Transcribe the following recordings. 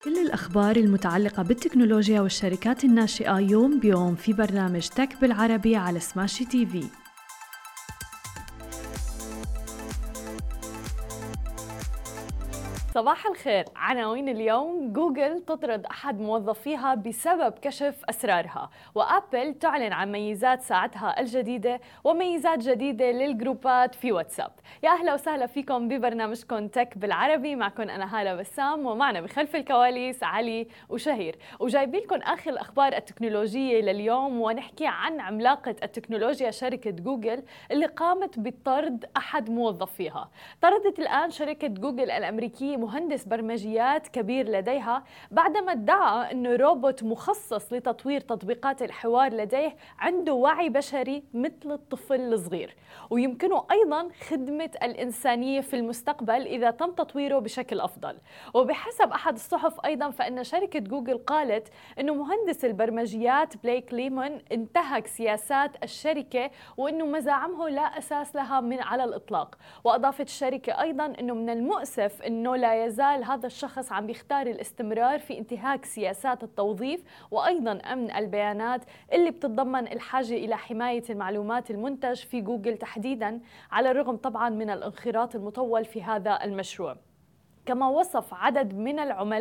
كل الأخبار المتعلقة بالتكنولوجيا والشركات الناشئة يوم بيوم في برنامج تك بالعربي على سماشي تي في. صباح الخير. عناوين اليوم: جوجل تطرد أحد موظفيها بسبب كشف أسرارها، وآبل تعلن عن ميزات ساعتها الجديدة وميزات جديدة للجروبات في واتساب. يا أهلا وسهلا فيكم ببرنامجكم تك بالعربي، معكم أنا هالة بسام، ومعنا بخلف الكواليس علي وشهير، وجايبين لكم آخر الأخبار التكنولوجية لليوم. ونحكي عن عملاقة التكنولوجيا شركة جوجل اللي قامت بطرد أحد موظفيها. طردت الآن شركة جوجل الأمريكية مهندس برمجيات كبير لديها بعدما ادعى أنه روبوت مخصص لتطوير تطبيقات الحوار لديه عنده وعي بشري مثل الطفل الصغير، ويمكنه أيضا خدمة الإنسانية في المستقبل إذا تم تطويره بشكل أفضل. وبحسب أحد الصحف أيضا فإن شركة جوجل قالت أنه مهندس البرمجيات بليك ليمون انتهك سياسات الشركة وأنه مزاعمه لا أساس لها من على الإطلاق. وأضافت الشركة أيضا أنه من المؤسف أنه لا يزال هذا الشخص عم بيختار الاستمرار في انتهاك سياسات التوظيف وأيضا أمن البيانات اللي بتتضمن الحاجة إلى حماية المعلومات المنتج في جوجل تحديدا، على الرغم طبعا من الانخراط المطول في هذا المشروع. كما وصف عدد من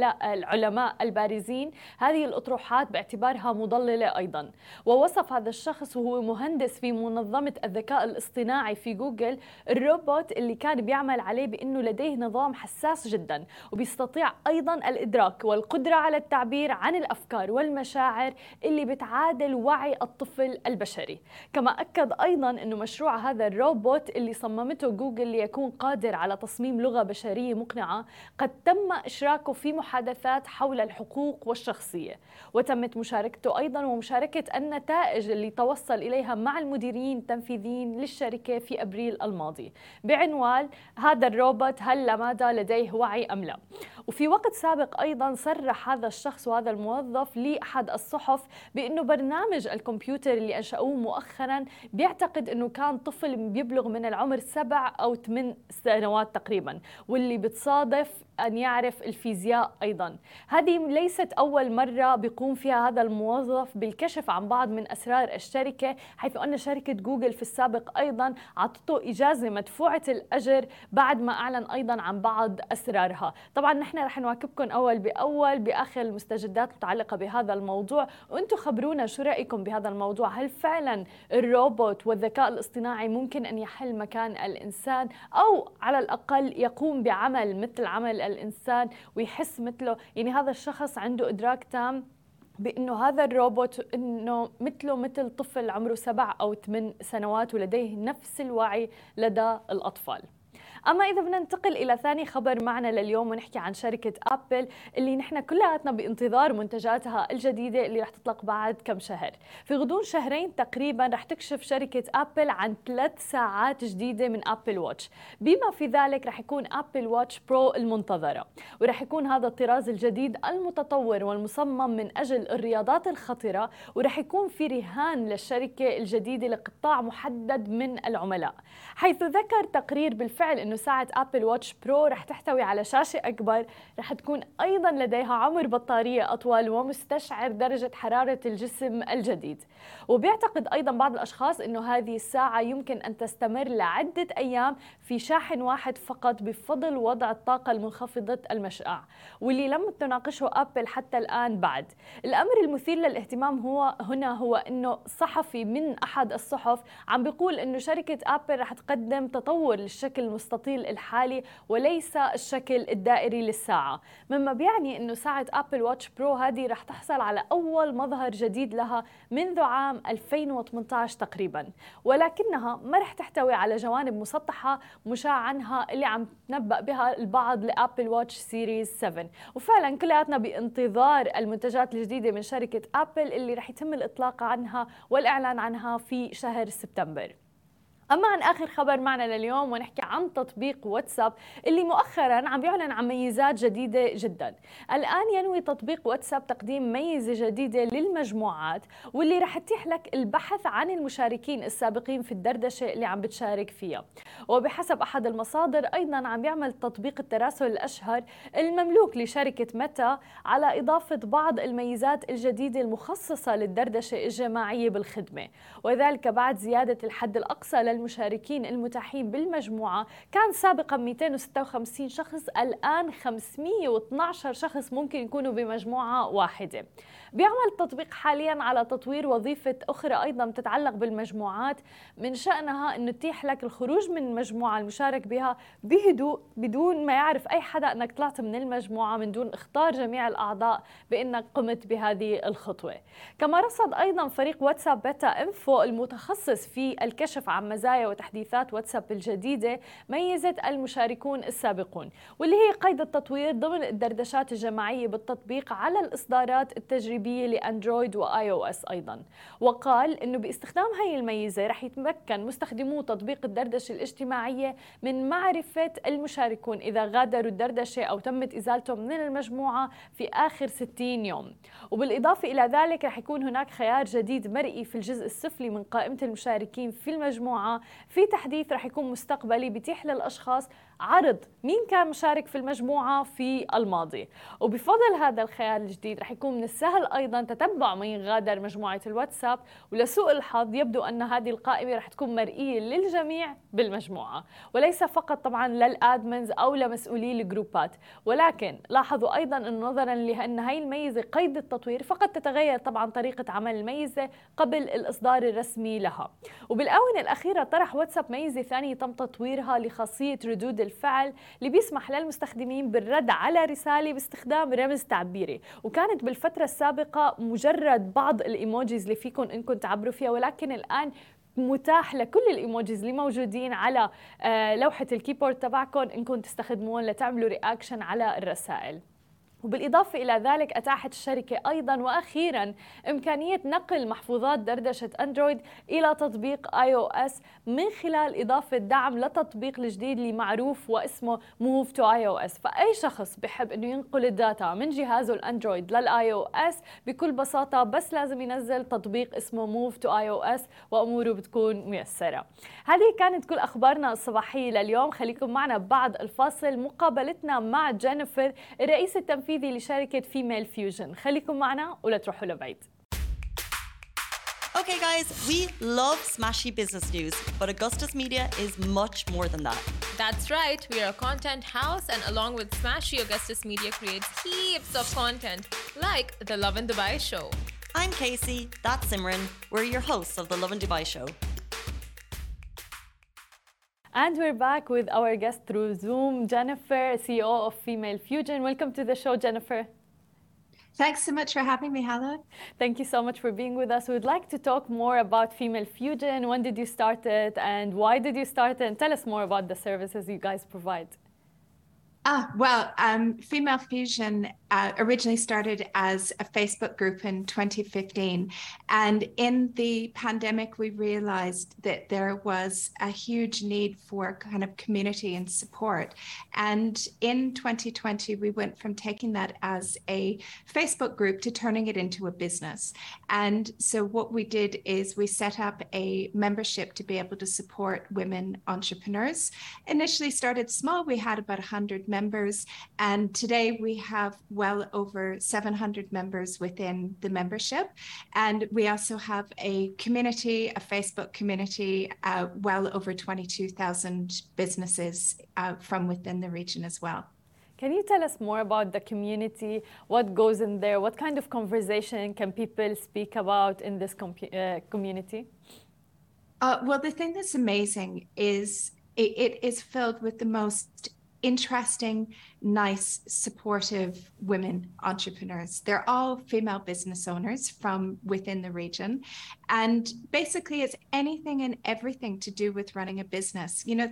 العلماء البارزين هذه الأطروحات باعتبارها مضللة أيضا. ووصف هذا الشخص وهو مهندس في منظمة الذكاء الاصطناعي في جوجل الروبوت اللي كان بيعمل عليه بأنه لديه نظام حساس جدا وبيستطيع أيضا الإدراك والقدرة على التعبير عن الأفكار والمشاعر اللي بتعادل وعي الطفل البشري. كما أكد أيضا أنه مشروع هذا الروبوت اللي صممته جوجل ليكون قادر على تصميم لغة بشرية مقنعة قد تم إشراكه في محادثات حول الحقوق والشخصية، وتمت مشاركته أيضا ومشاركة النتائج اللي توصل إليها مع المديرين التنفيذيين للشركة في أبريل الماضي بعنوان هذا الروبوت هل ماذا لديه وعي أم لا. وفي وقت سابق أيضا صرح هذا الشخص وهذا الموظف لأحد الصحف بأنه برنامج الكمبيوتر اللي أنشأوه مؤخرا بيعتقد أنه كان طفل بيبلغ من العمر 7 أو 8 سنوات تقريبا، واللي بتصادف أن يعرف الفيزياء أيضا. هذه ليست أول مرة بيقوم فيها هذا الموظف بالكشف عن بعض من أسرار الشركة، حيث أن شركة جوجل في السابق أيضا عطته إجازة مدفوعة الأجر بعد ما أعلن أيضا عن بعض أسرارها. طبعا نحن رح نواكبكم أول بأول بآخر المستجدات المتعلقة بهذا الموضوع، وأنتم خبرونا شو رأيكم بهذا الموضوع. هل فعلا الروبوت والذكاء الاصطناعي ممكن أن يحل مكان الإنسان، أو على الأقل يقوم بعمل مثل عمل الإنسان ويحس مثله؟ يعني هذا الشخص عنده إدراك تام بأنه هذا الروبوت أنه مثله مثل طفل عمره 7 أو 8 سنوات ولديه نفس الوعي لدى الأطفال. أما إذا بدنا ننتقل إلى ثاني خبر معنا لليوم ونحكي عن شركة آبل اللي نحن كلياتنا بانتظار منتجاتها الجديدة اللي رح تطلق بعد كم شهر. في غضون شهرين تقريبا رح تكشف شركة آبل عن 3 ساعات جديدة من آبل واتش، بما في ذلك رح يكون آبل واتش برو المنتظرة، ورح يكون هذا الطراز الجديد المتطور والمصمم من أجل الرياضات الخطرة، ورح يكون في رهان للشركة الجديدة لقطاع محدد من العملاء. حيث ذكر تقرير بالفعل أنه ساعة آبل واتش برو رح تحتوي على شاشة أكبر، رح تكون أيضا لديها عمر بطارية أطول ومستشعر درجة حرارة الجسم الجديد. وبيعتقد أيضا بعض الأشخاص أنه هذه الساعة يمكن أن تستمر لعدة أيام في شاحن واحد فقط بفضل وضع الطاقة المنخفضة المشعاع، واللي لم تناقشه آبل حتى الآن بعد. الأمر المثير للاهتمام هو أنه صحفي من أحد الصحف عم بيقول أنه شركة آبل رح تقدم تطور للشكل المستطيل الحالي وليس الشكل الدائري للساعة، مما بيعني أنه ساعة آبل واتش برو هذه رح تحصل على أول مظهر جديد لها منذ عام 2018 تقريبا، ولكنها ما رح تحتوي على جوانب مسطحة مشاع عنها اللي عم تنبأ بها البعض لآبل واتش سيريز 7. وفعلا كلياتنا بانتظار المنتجات الجديدة من شركة آبل اللي رح يتم الإطلاق عنها والإعلان عنها في شهر سبتمبر. أما عن آخر خبر معنا لليوم ونحكي عن تطبيق واتساب اللي مؤخرا عم بيعلن عن ميزات جديدة جدا. الآن ينوي تطبيق واتساب تقديم ميزة جديدة للمجموعات واللي رح تتيح لك البحث عن المشاركين السابقين في الدردشة اللي عم بتشارك فيها. وبحسب أحد المصادر أيضا عم بيعمل تطبيق التراسل الأشهر المملوك لشركة ميتا على إضافة بعض الميزات الجديدة المخصصة للدردشة الجماعية بالخدمة، وذلك بعد زيادة الحد الأقصى للمشاركين المتاحين بالمجموعة. كان سابقا 256 شخص، الآن 512 شخص ممكن يكونوا بمجموعة واحدة. بيعمل التطبيق حاليا على تطوير وظيفة أخرى أيضا تتعلق بالمجموعات، من شأنها أنه تتيح لك الخروج من المجموعة المشارك بها بهدوء بدون ما يعرف أي حدا أنك طلعت من المجموعة، من دون إخطار جميع الأعضاء بأنك قمت بهذه الخطوة. كما رصد أيضا فريق واتساب بيتا إنفو المتخصص في الكشف عن مزايا وتحديثات واتساب الجديدة ميزة المشاركون السابقون، واللي هي قيد التطوير ضمن الدردشات الجماعية بالتطبيق على الإصدارات التجريبية لأندرويد وآي أو إس أيضا. وقال إنه باستخدام هاي الميزة رح يتمكن مستخدمو تطبيق الدردشة الاجتماعية من معرفة المشاركون إذا غادروا الدردشة أو تمت إزالتهم من المجموعة في آخر 60 يوم. وبالإضافة إلى ذلك رح يكون هناك خيار جديد مرئي في الجزء السفلي من قائمة المشاركين في المجموعة، في تحديث رح يكون مستقبلي بيتيح للأشخاص عرض مين كان مشارك في المجموعة في الماضي. وبفضل هذا الخيار الجديد رح يكون من السهل أيضا تتبع من غادر مجموعة الواتساب، ولسوء الحظ يبدو أن هذه القائمة رح تكون مرئية للجميع بالمجموعة وليس فقط طبعا للأدمنز أو لمسؤولي الجروبات. ولكن لاحظوا أيضا أن نظرا لأن هاي الميزة قيد التطوير فقط تتغير طبعا طريقة عمل الميزة قبل الإصدار الرسمي لها. وبالآونة الأخيرة طرح واتساب ميزة ثانية تم تطويرها لخاصية ردود الفعل اللي بيسمح للمستخدمين بالرد على رسالة باستخدام رمز تعبيري، وكانت بالفترة السابقة مجرد بعض الإيموجيز اللي فيكم إنكم تعبروا فيها، ولكن الآن متاح لكل الإيموجيز اللي موجودين على لوحة الكيبورد تبعكم إنكم تستخدمون لتعملوا رياكشن على الرسائل. وبالإضافة إلى ذلك أتاحت الشركة أيضاً وأخيراً إمكانية نقل محفوظات دردشة أندرويد إلى تطبيق آي أو إس من خلال إضافة دعم لتطبيق الجديد اللي معروف واسمه Move to iOS. فأي شخص بحب إنه ينقل الداتا من جهازه الأندرويد للآي أو إس بكل بساطة بس لازم ينزل تطبيق اسمه Move to iOS وأموره بتكون ميسرة. هذه كانت كل أخبارنا الصباحية لليوم. خليكم معنا بعد الفاصل مقابلتنا مع جينيفر الرئيس التنفيذي لشركة فيميل فيوجن. خليكم معنا ولا تروحوا لبعيد. Okay guys, we love smashy business news, but Augustus Media is much more than that. That's right, we are a content house and along with Smashy, Augustus Media creates heaps of content like The Lovin Dubai Show. I'm Casey, that's Simran, we're your hosts of The Lovin Dubai Show. And we're back with our guest through Zoom, Jennifer, CEO of Female Fusion. Welcome to the show, Jennifer. Thanks so much for having me, Hala. Thank you so much for being with us. We'd like to talk more about Female Fusion. When did you start it and why did you start it? And tell us more about the services you guys provide. Female Fusion originally started as a Facebook group in 2015. And in the pandemic, we realized that there was a huge need for kind of community and support. And in 2020, we went from taking that as a Facebook group to turning it into a business. And so what we did is we set up a membership to be able to support women entrepreneurs. Initially started small, we had about 100 members, and today we have well over 700 members within the membership. And we also have a community, a Facebook community, well over 22,000 businesses from within the region as well. Can you tell us more about the community? What goes in there? What kind of conversation can people speak about in this community? Well, the thing that's amazing is it is filled with the most interesting, nice, supportive women entrepreneurs. They're all female business owners from within the region. And basically it's anything and everything to do with running a business. You know,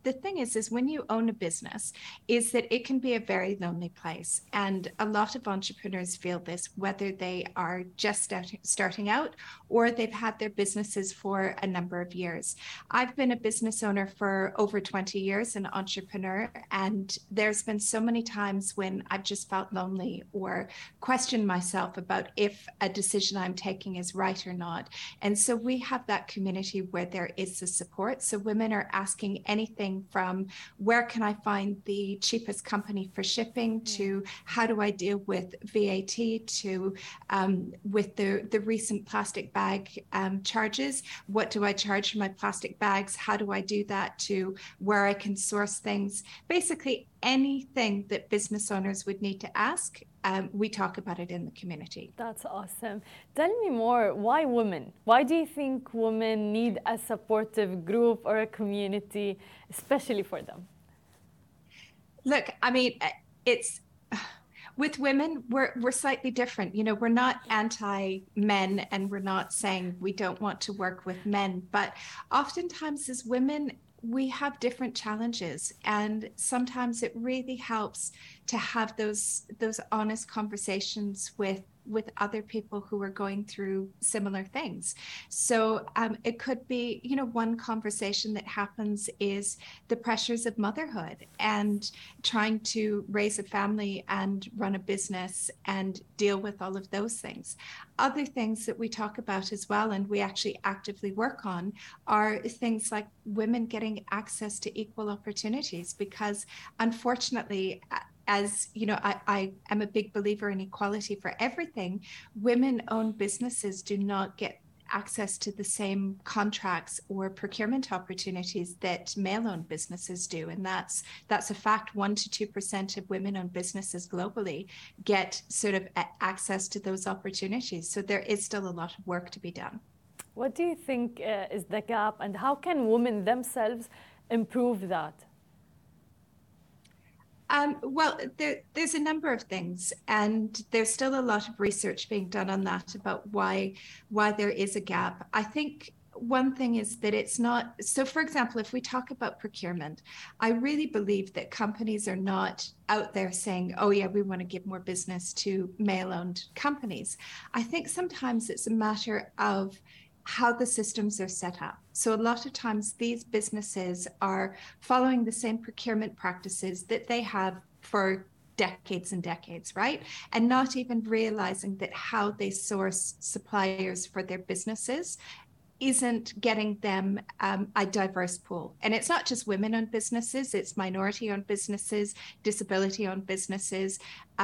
the thing is when you own a business, is that it can be a very lonely place. And a lot of entrepreneurs feel this, whether they are just starting out or they've had their businesses for a number of years. I've been a business owner for over 20 years, an entrepreneur, and there's been so many times when I've just felt lonely or questioned myself about if a decision I'm taking is right or not. And so we have that community where there is the support. So women are asking anything from where can I find the cheapest company for shipping to how do I deal with VAT to with the recent plastic bag charges. What do I charge for my plastic bags? How do I do that to where I can source things? Basically anything that business owners would need to ask, we talk about it in the community. That's awesome. Tell me more, why women? Why do you think women need a supportive group or a community, especially for them? Look, I mean, it's with women, we're slightly different. You know, we're not anti-men and we're not saying we don't want to work with men, but oftentimes as women, we have different challenges, and sometimes it really helps to have those honest conversations with other people who are going through similar things. So it could be, you know, one conversation that happens is the pressures of motherhood and trying to raise a family and run a business and deal with all of those things. Other things that we talk about as well, and we actually actively work on, are things like women getting access to equal opportunities, because unfortunately, as you know, I am a big believer in equality for everything. Women-owned businesses do not get access to the same contracts or procurement opportunities that male-owned businesses do, and that's a fact. 1 to 2% of women-owned businesses globally get sort of access to those opportunities. So there is still a lot of work to be done. What do you think is the gap, and how can women themselves improve that? Well, there's a number of things, and there's still a lot of research being done on that about why there is a gap. I think one thing is that it's not, so for example, if we talk about procurement, I really believe that companies are not out there saying, oh yeah, we want to give more business to male-owned companies. I think sometimes it's a matter of how the systems are set up. So a lot of times these businesses are following the same procurement practices that they have for decades and decades, right? And not even realizing that how they source suppliers for their businesses isn't getting them a diverse pool. And it's not just women-owned businesses, it's minority-owned businesses, disability-owned businesses.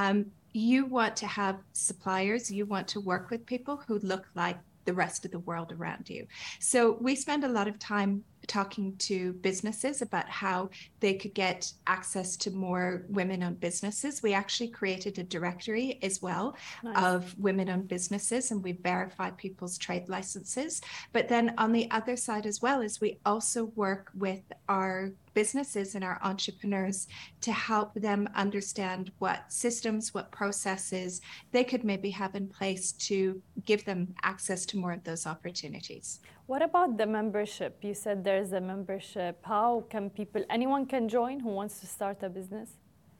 You want to have suppliers, you want to work with people who look like the rest of the world around you. So we spend a lot of time talking to businesses about how they could get access to more women-owned businesses. We actually created a directory as well of women-owned businesses, and we verify people's trade licenses. But then on the other side as well is we also work with our businesses and our entrepreneurs to help them understand what systems, what processes they could maybe have in place to give them access to more of those opportunities. What about the membership? You said there's a membership. How can anyone can join who wants to start a business?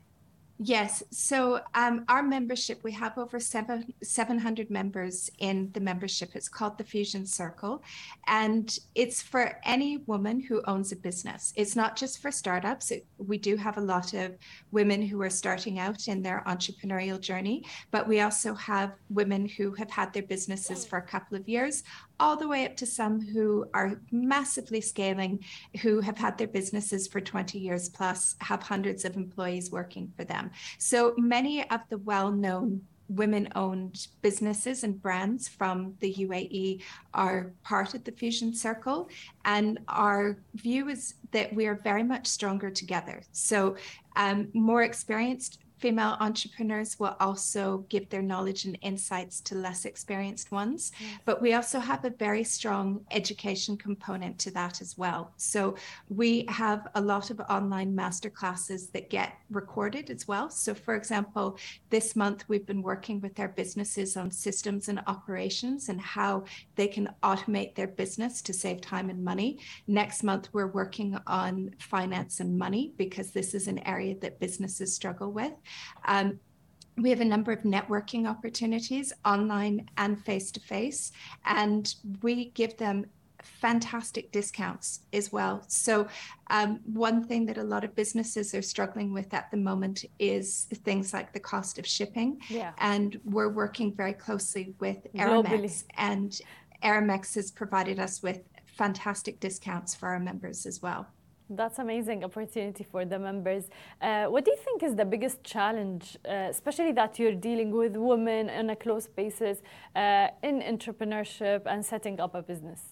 Yes. So our membership, we have over 700 members in the membership. It's called the Fusion Circle. And it's for any woman who owns a business. It's not just for startups. We do have a lot of women who are starting out in their entrepreneurial journey, but we also have women who have had their businesses for a couple of years, all the way up to some who are massively scaling, who have had their businesses for 20 years plus, have hundreds of employees working for them. So many of the well-known women-owned businesses and brands from the UAE are part of the Fusion Circle. And our view is that we are very much stronger together. So more experienced female entrepreneurs will also give their knowledge and insights to less experienced ones. But we also have a very strong education component to that as well. So we have a lot of online masterclasses that get recorded as well. So for example, this month we've been working with our businesses on systems and operations and how they can automate their business to save time and money. Next month, we're working on finance and money because this is an area that businesses struggle with. We have a number of networking opportunities online and face-to-face, and we give them fantastic discounts as well. So one thing that a lot of businesses are struggling with at the moment is things like the cost of shipping. Yeah. And we're working very closely with Globally. Aramex, and Aramex has provided us with fantastic discounts for our members as well. That's amazing opportunity for the members. What do you think is the biggest challenge, especially that you're dealing with women on a close basis in entrepreneurship and setting up a business?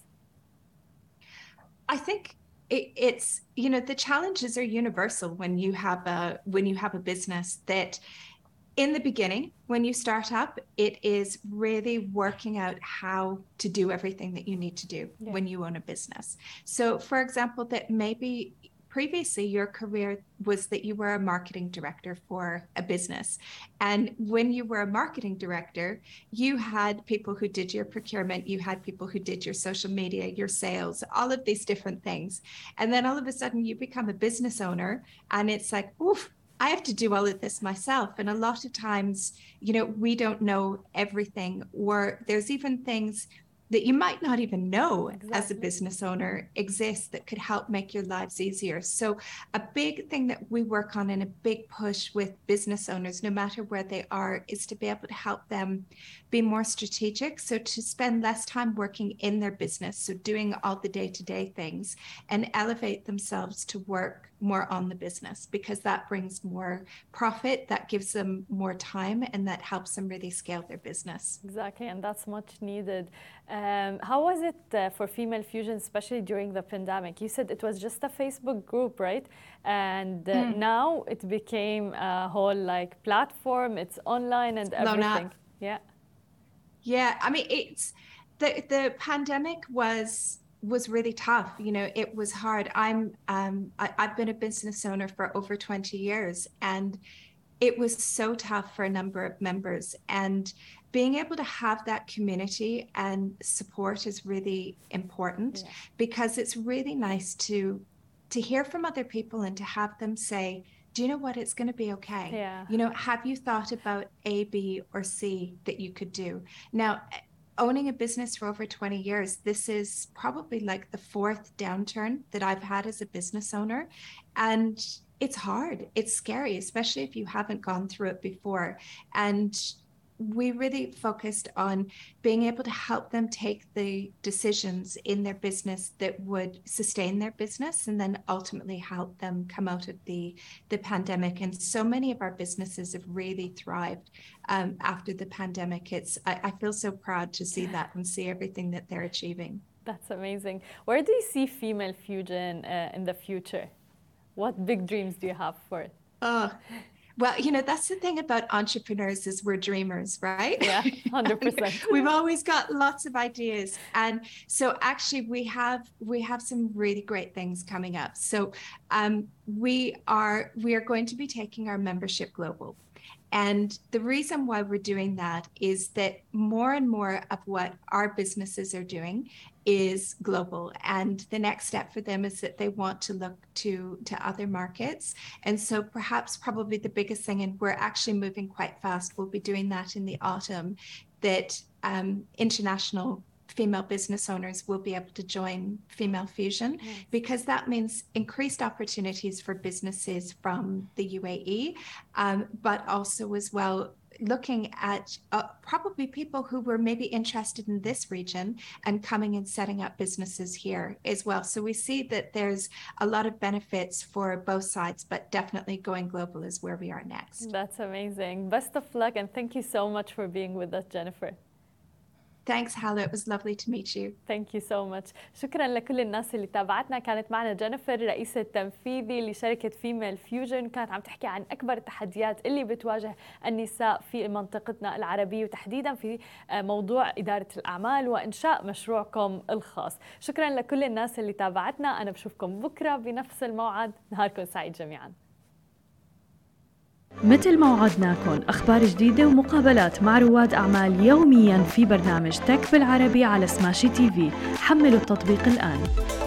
I think it's, you know, the challenges are universal when you have a business. That in the beginning, when you start up, it is really working out how to do everything that you need to do when you own a business. So for example, that maybe previously your career was that you were a marketing director for a business. And when you were a marketing director, you had people who did your procurement, you had people who did your social media, your sales, all of these different things. And then all of a sudden you become a business owner and it's like, oof, I have to do all of this myself. And a lot of times, you know, we don't know everything, or there's even things that you might not even know as a business owner exists that could help make your lives easier. So a big thing that we work on and a big push with business owners, no matter where they are, is to be able to help them be more strategic. So to spend less time working in their business, so doing all the day-to-day things, and elevate themselves to work more on the business, because that brings more profit, that gives them more time, and that helps them really scale their business. Exactly, and that's much needed. How was it for Female Fusion, especially during the pandemic? You said it was just a Facebook group, right? And now it became a whole like platform. It's online and everything. Yeah. I mean, it's the pandemic was really tough. You know, it was hard. I've been a business owner for over 20 years, and it was so tough for a number of members. And being able to have that community and support is really important, because it's really nice to hear from other people and to have them say, do you know what, it's going to be okay. Yeah. You know, have you thought about A, B, or C that you could do? Now, owning a business for over 20 years, this is probably like the fourth downturn that I've had as a business owner. And it's hard. It's scary, especially if you haven't gone through it before. And we really focused on being able to help them take the decisions in their business that would sustain their business and then ultimately help them come out of the pandemic. And so many of our businesses have really thrived after the pandemic. I feel so proud to see that and see everything that they're achieving. That's amazing. Where do you see Female Fusion in the future? What big dreams do you have for it? Well, you know, that's the thing about entrepreneurs is we're dreamers, right? Yeah, 100%. We've always got lots of ideas. And so actually we have some really great things coming up. So we are going to be taking our membership global. And the reason why we're doing that is that more and more of what our businesses are doing is global. And the next step for them is that they want to look to other markets. And so probably the biggest thing, and we're actually moving quite fast, we'll be doing that in the autumn, that international female business owners will be able to join Female Fusion, because that means increased opportunities for businesses from the UAE, but also as well looking at probably people who were maybe interested in this region and coming and setting up businesses here as well. So we see that there's a lot of benefits for both sides, but definitely going global is where we are next. That's amazing. Best of luck, and thank you so much for being with us, Jennifer. Thanks, Hala. It was lovely to meet you. Thank you so much. شكرا لكل الناس اللي تابعتنا. كانت معنا جينيفر رئيس التنفيذي لشركة فيميل فيوجن، كانت عم تحكي عن أكبر التحديات اللي بتواجه النساء في منطقتنا العربية، وتحديدا في موضوع إدارة الأعمال وإنشاء مشروعكم الخاص. شكرا لكل الناس اللي تابعتنا. أنا بشوفكم بكرة بنفس الموعد. نهاركم سعيد جميعا. مثل ما وعدناكم أخبار جديدة ومقابلات مع رواد أعمال يومياً في برنامج تك بالعربي على سماشي تي في. حملوا التطبيق الآن.